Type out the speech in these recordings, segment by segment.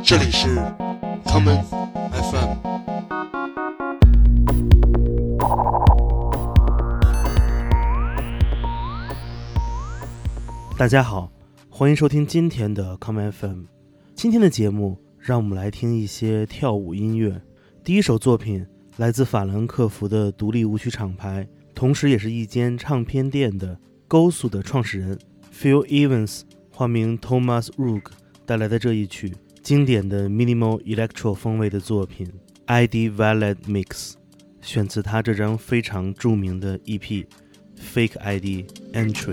这里是 Common FM。 大家好，欢迎收听今天的 Common FM。 今天的节目让我们来听一些跳舞音乐。第一首作品来自法兰克福的独立舞曲厂牌，同时也是一间唱片店的 Gosu 的创始人 Phil Evans 化名 Thomas Rook 带来的这一曲经典的 Minimal Electro 风味的作品 ID Valid Mix， 选自他这张非常著名的 EP Fake ID Entry。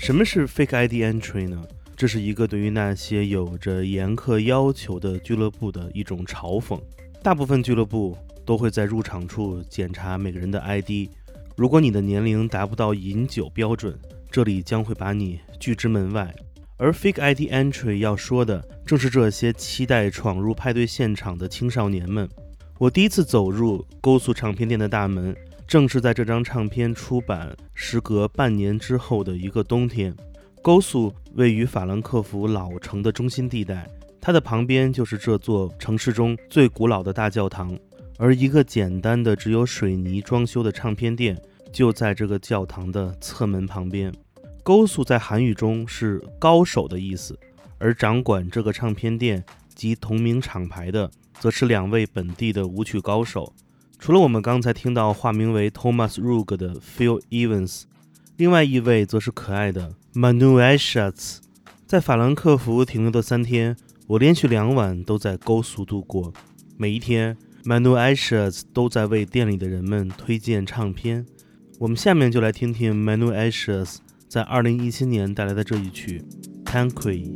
什么是 Fake ID Entry 呢？这是一个对于那些有着严苛要求的俱乐部的一种嘲讽。大部分俱乐部都会在入场处检查每个人的 ID， 如果你的年龄达不到饮酒标准，这里将会把你拒之门外。而 Fake ID Entry 要说的正是这些期待闯入派对现场的青少年们。我第一次走入勾素唱片店的大门，正是在这张唱片出版时隔半年之后的一个冬天。勾素位于法兰克福老城的中心地带，它的旁边就是这座城市中最古老的大教堂，而一个简单的只有水泥装修的唱片店就在这个教堂的侧门旁边。勾素在韩语中是高手的意思，而掌管这个唱片店及同名厂牌的则是2位本地的舞曲高手。除了我们刚才听到化名为 Thomas Rugg 的 Phil Evans， 另外一位則是可爱的 Manu Aishats。 在法兰克福停留的3天，我连续2晚都在勾素度过。每一天 Manu Aishats 都在为店里的人们推荐唱片。我们下面就来听听 Manu Aishats 在2017年带来的这一曲 Tanqueray。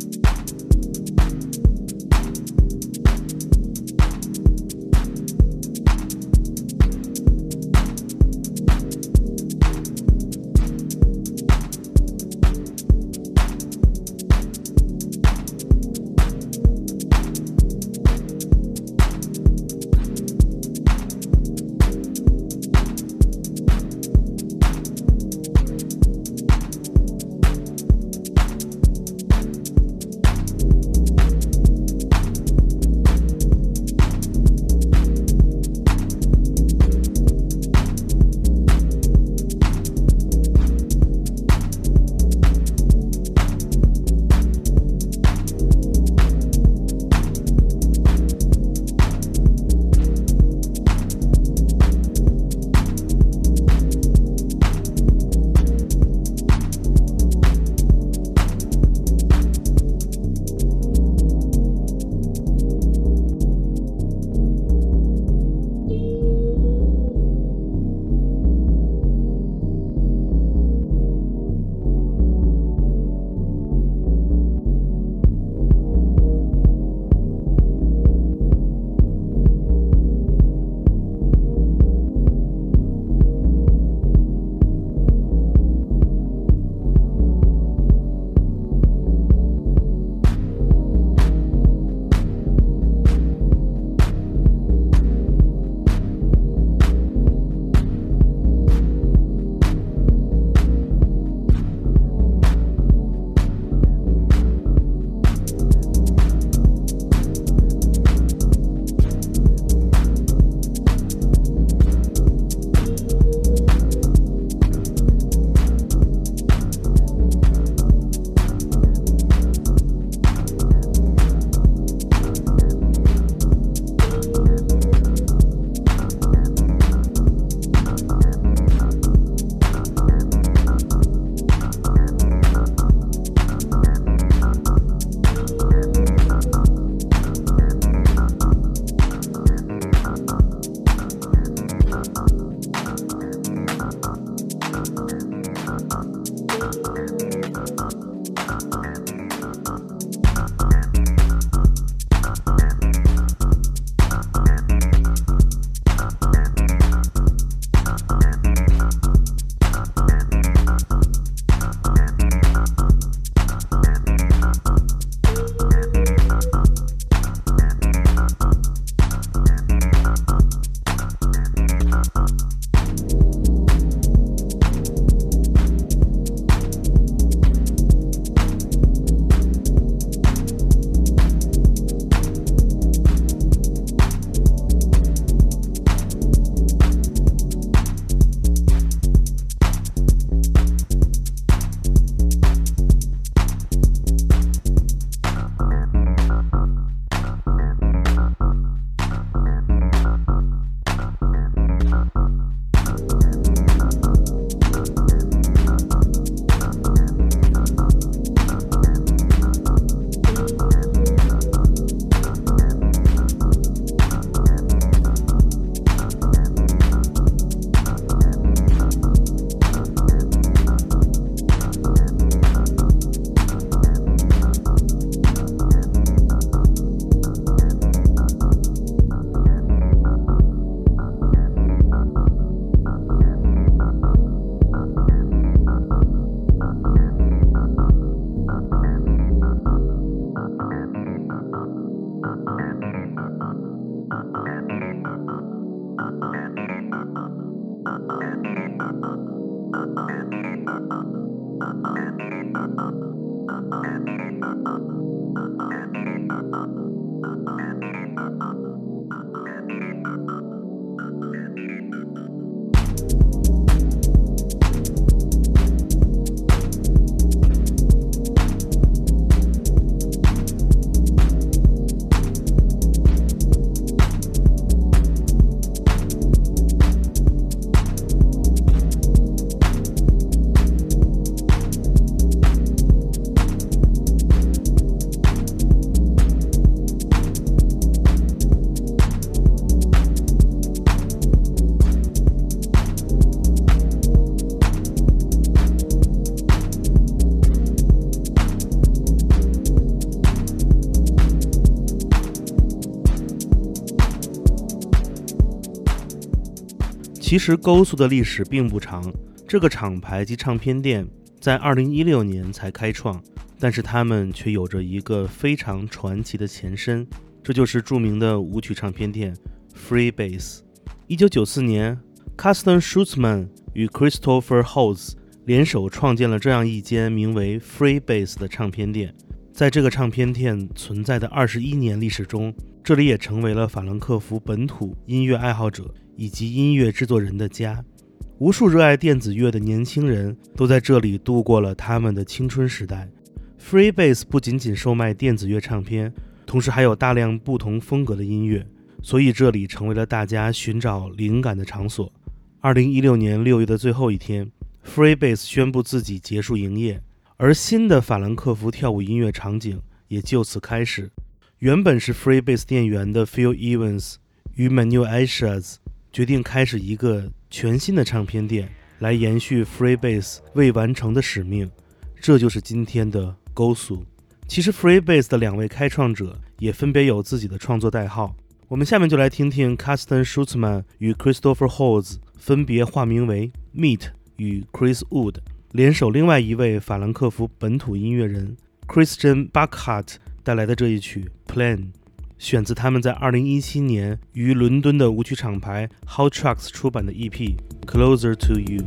其实高速的历史并不长，这个厂牌及唱片店在2016年才开创，但是他们却有着一个非常传奇的前身，这就是著名的舞曲唱片店 Freebase。 1994年 Carsten Schulzman 与 Christopher Holtz 联手创建了这样一间名为 Freebase 的唱片店。在这个唱片店存在的21年历史中，这里也成为了法兰克福本土音乐爱好者以及音乐制作人的家。无数热爱电子乐的年轻人都在这里度过了他们的青春时代。Freebase 不仅仅售卖电子乐唱片，同时还有大量不同风格的音乐，所以这里成为了大家寻找灵感的场所。2016年6月的最后一天， Freebase 宣布自己结束营业，而新的法兰克福跳舞音乐场景也就此开始。原本是 Freebase 店员的 Phil Evans 与 Manuel Aishaz 决定开始一个全新的唱片店，来延续 Freebase 未完成的使命，这就是今天的高速。其实 Freebase 的2位开创者也分别有自己的创作代号，我们下面就来听听 Carsten Schulzman 与 Christopher Holtz 分别化名为 Meat 与 Chris Wood 联手另外一位法兰克福本土音乐人 Christian Burkhardt 带来的这一曲 Plan， 选自他们在2017年于伦敦的舞曲厂牌 Hot Tracks 出版的 EP Closer to You。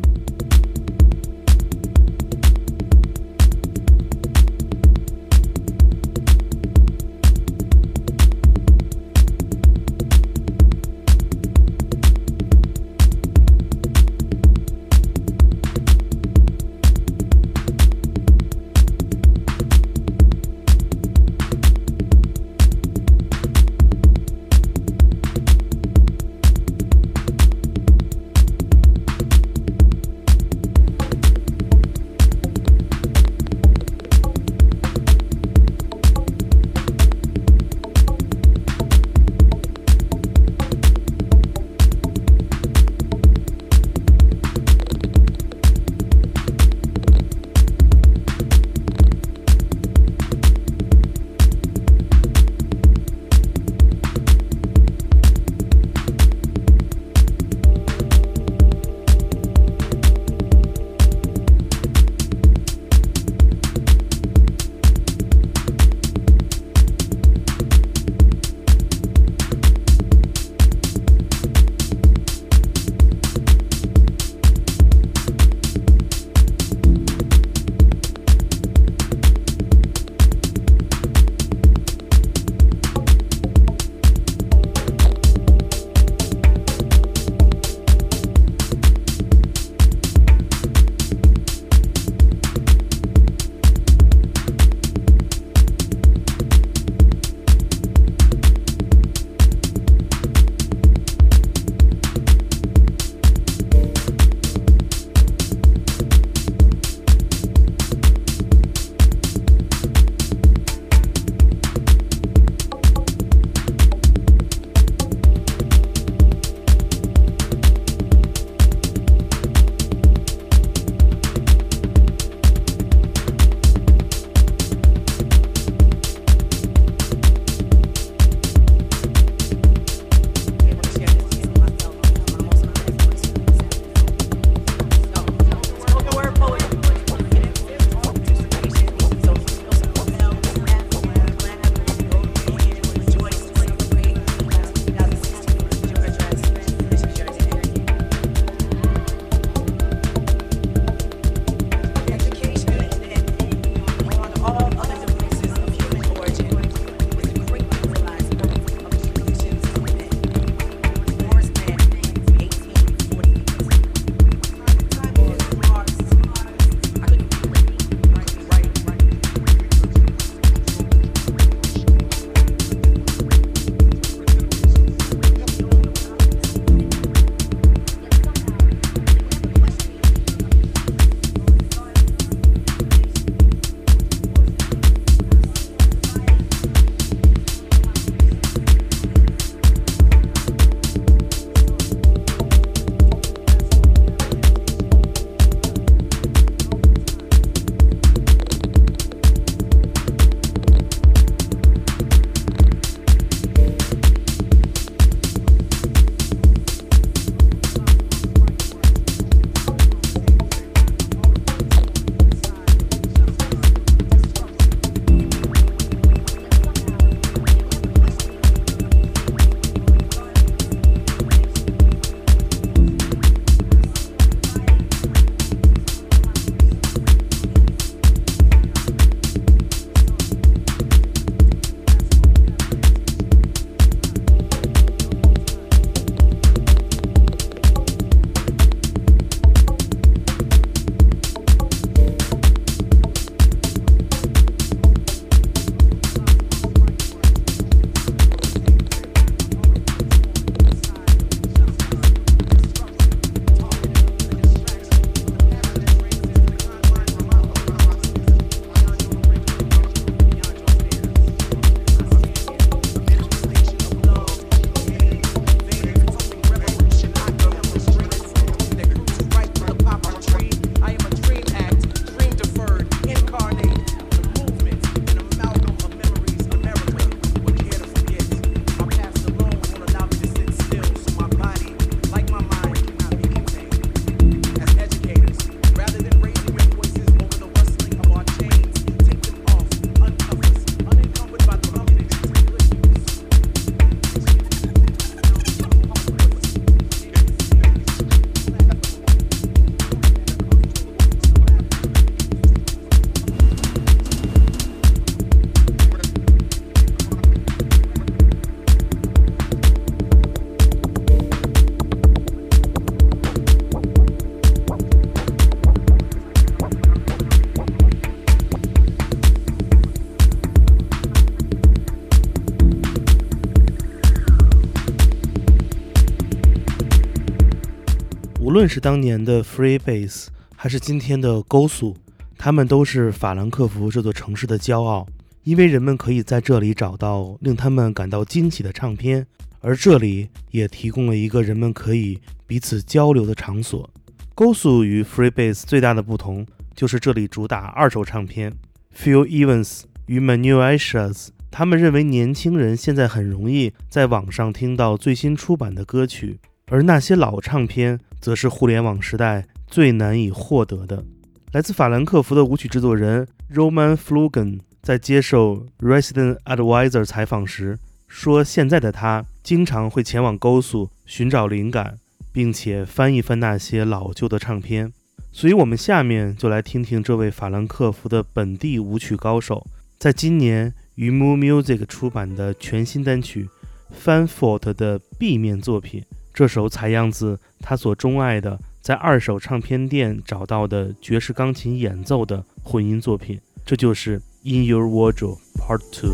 无论是当年的 Freebase 还是今天的高速，他们都是法兰克福这座城市的骄傲，因为人们可以在这里找到令他们感到惊喜的唱片，而这里也提供了一个人们可以彼此交流的场所。高速与 Freebase 最大的不同就是这里主打二手唱片。Phil Evans 与 Manuel Achaz 他们认为年轻人现在很容易在网上听到最新出版的歌曲，而那些老唱片则是互联网时代最难以获得的。来自法兰克福的舞曲制作人 Roman Flogen 在接受 Resident Advisor 采访时说，现在的他经常会前往高速寻找灵感，并且翻一翻那些老旧的唱片。所以我们下面就来听听这位法兰克福的本地舞曲高手在今年于 Moo Music 出版的全新单曲 Fanfort 的 B 面作品，这首采样自他所钟爱的在二手唱片店找到的爵士钢琴演奏的混音作品，这就是 In Your Wardrobe Part 2。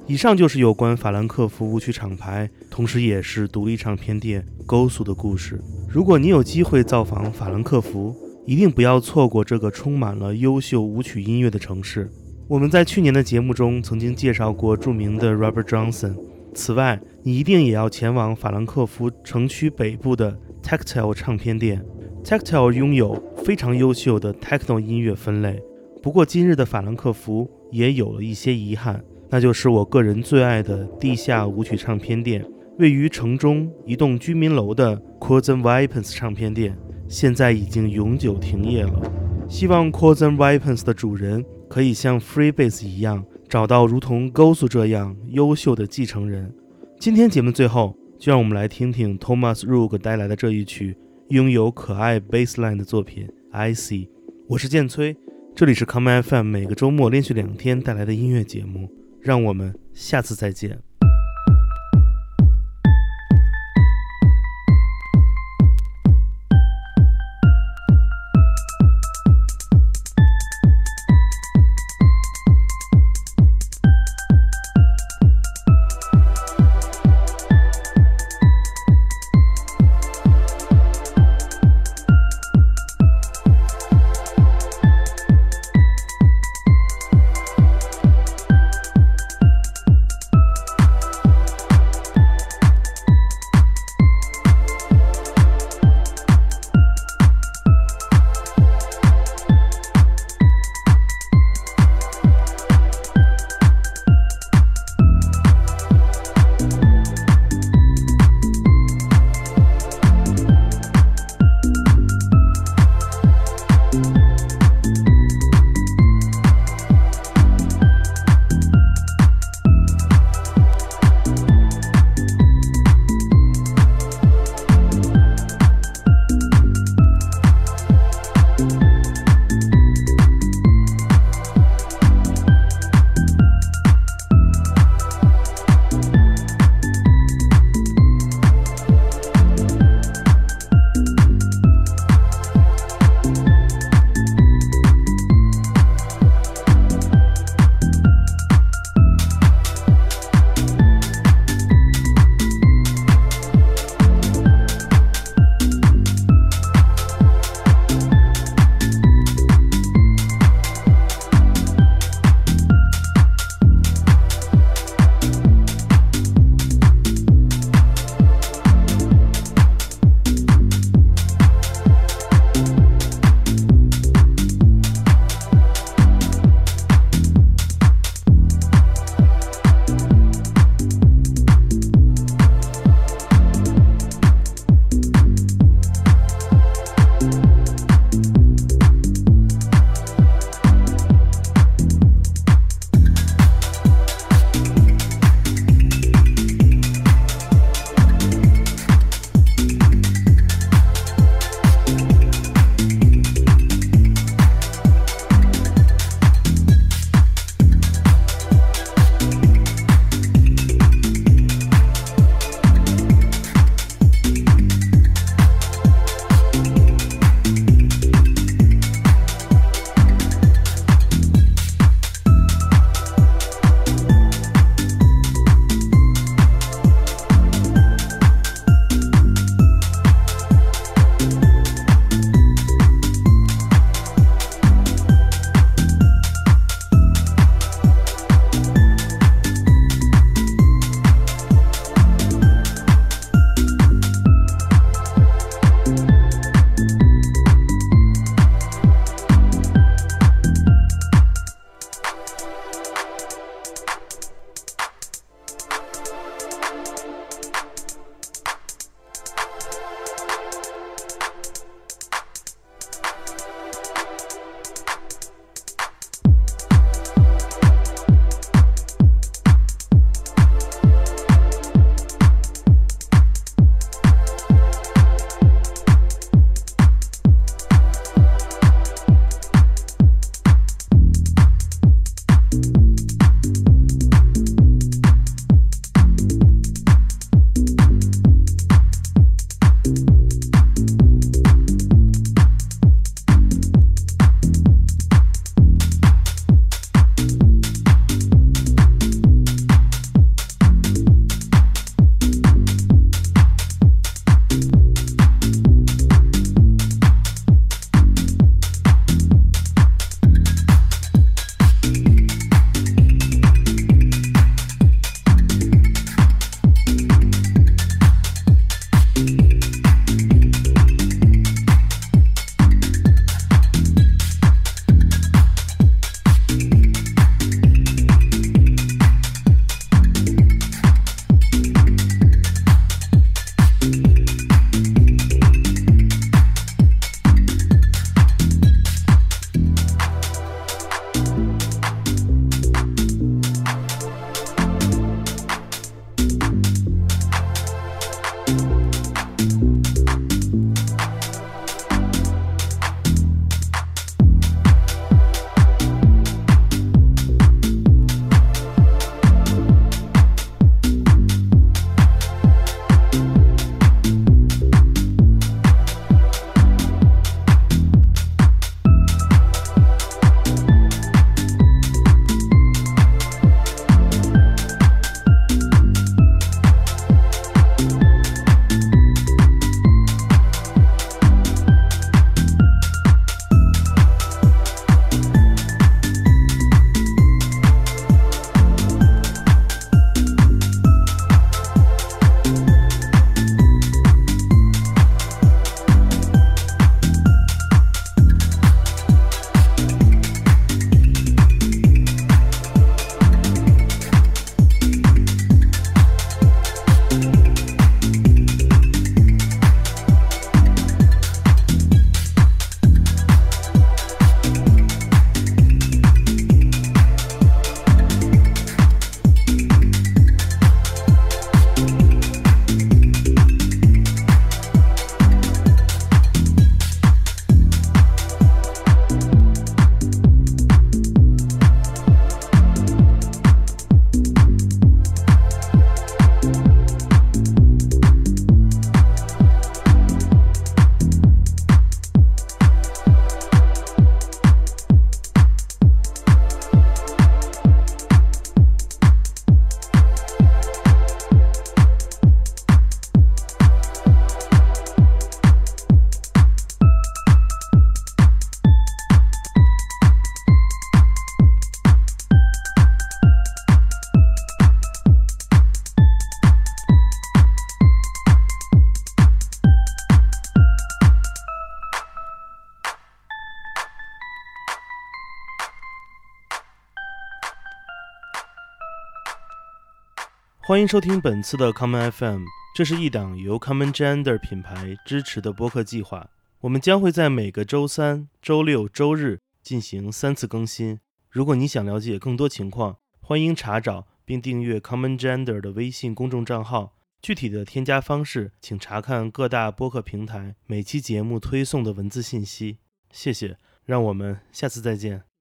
以上就是有关法兰克福舞曲厂牌，同时也是独立唱片店 Gosu 的故事。如果你有机会造访法兰克福，一定不要错过这个充满了优秀舞曲音乐的城市。我们在去年的节目中曾经介绍过著名的 Robert Johnson。此外，你一定也要前往法兰克福城区北部的 Tactile 唱片店。Tactile 拥有非常优秀的 Techno 音乐分类。不过今日的法兰克福也有了一些遗憾，那就是我个人最爱的地下舞曲唱片店，位于城中一栋居民楼的 Chords and Weapons 唱片店，现在已经永久停业了。希望 Chords and Weapons 的主人可以像 Freebase 一样，找到如同 Gosu 这样优秀的继承人。今天节目最后，就让我们来听听 Thomas Rugg 带来的这一曲拥有可爱 bassline 的作品 I See。 我是建崔，这里是 Come FM 每个周末连续2天带来的音乐节目，让我们下次再见。 欢迎收听本次的 Common FM， 这是一档由 Common Gender 品牌支持的播客计划。我们将会在每个周三、周六、周日进行3次更新。如果你想了解更多情况，欢迎查找并订阅 Common Gender 的微信公众账号。具体的添加方式，请查看各大播客平台每期节目推送的文字信息。谢谢，让我们下次再见。